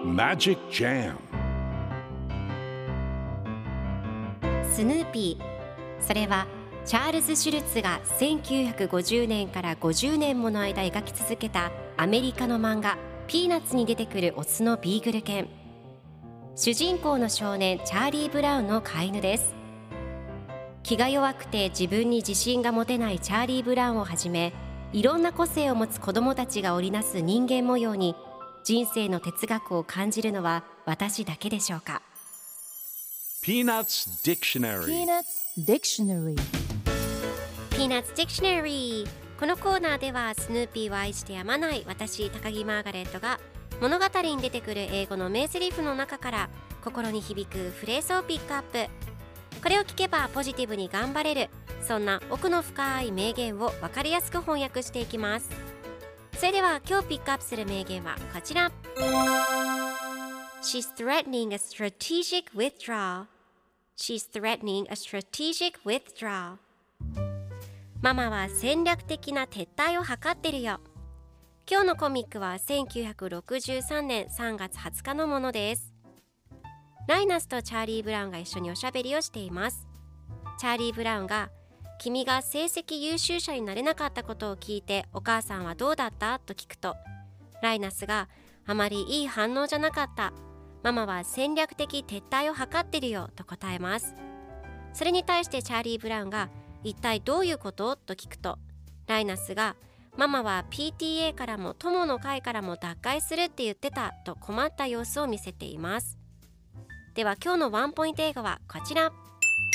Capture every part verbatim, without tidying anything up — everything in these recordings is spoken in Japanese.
Magic Jam スヌーピー、それはチャールズ・シュルツがせんきゅうひゃくごじゅうねんからごじゅうねんもの間描き続けたアメリカの漫画ピーナッツに出てくるオスのビーグル犬。主人公の少年チャーリー・ブラウンの飼い犬です。気が弱くて自分に自信が持てないチャーリー・ブラウンをはじめ、いろんな個性を持つ子どもたちが織りなす人間模様に人生の哲学を感じるのは私だけでしょうか。 Peanuts Dictionary Peanuts Dictionary Peanuts Dictionary。 このコーナーではスヌーピーを愛してやまない私高木マーガレットが物語に出てくる英語の名台詞の中から心に響くフレーズをピックアップ。これを聞けばポジティブに頑張れる、そんな奥の深い名言を分かりやすく翻訳していきます。それでは今日ピックアップする名言はこちら。 She's threatening a strategic withdrawal. She's threatening a strategic withdrawal. ママは戦略的な撤退を図ってるよ。今日のコミックはせんきゅうひゃくろくじゅうさんねんさんがつはつかのものです。ライナスとチャーリー・ブラウンが一緒におしゃべりをしています。チャーリー・ブラウンが君が成績優秀者になれなかったことを聞いてお母さんはどうだったと聞くと、ライナスがあまりいい反応じゃなかった、ママは戦略的撤退を図ってるよと答えます。それに対してチャーリー・ブラウンが一体どういうことと聞くと、ライナスがママは ピーティーエー からも友の会からも脱会するって言ってたと困った様子を見せています。では今日のワンポイント英語はこちら。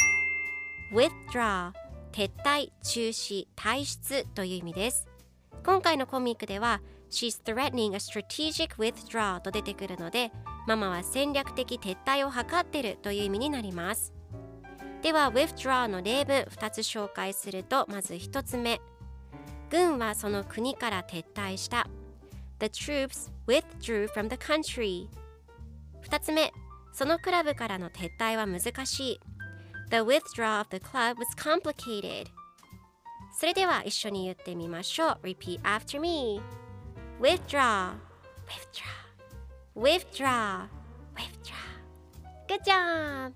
Withdraw、 撤退、中止、退出という意味です。今回のコミックでは She's threatening a strategic withdrawal と出てくるので、ママは戦略的撤退を図ってるという意味になります。では withdraw の例文ふたつ紹介すると、まずひとつめ、軍はその国から撤退した。 The troops withdrew from the country。 ふたつめ、そのクラブからの撤退は難しい。 The withdrawal of the club was complicated。 それでは一緒に言ってみましょう。 Repeat after me。 Withdraw Withdraw Withdraw Withdraw。 Good job。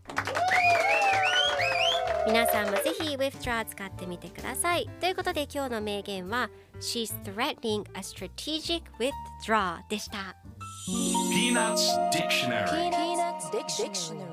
皆さんもぜひ Withdraw 使ってみてください。ということで今日の名言は She's threatening a strategic withdrawal でした。 Peanuts Dictionary Peanuts Dictionary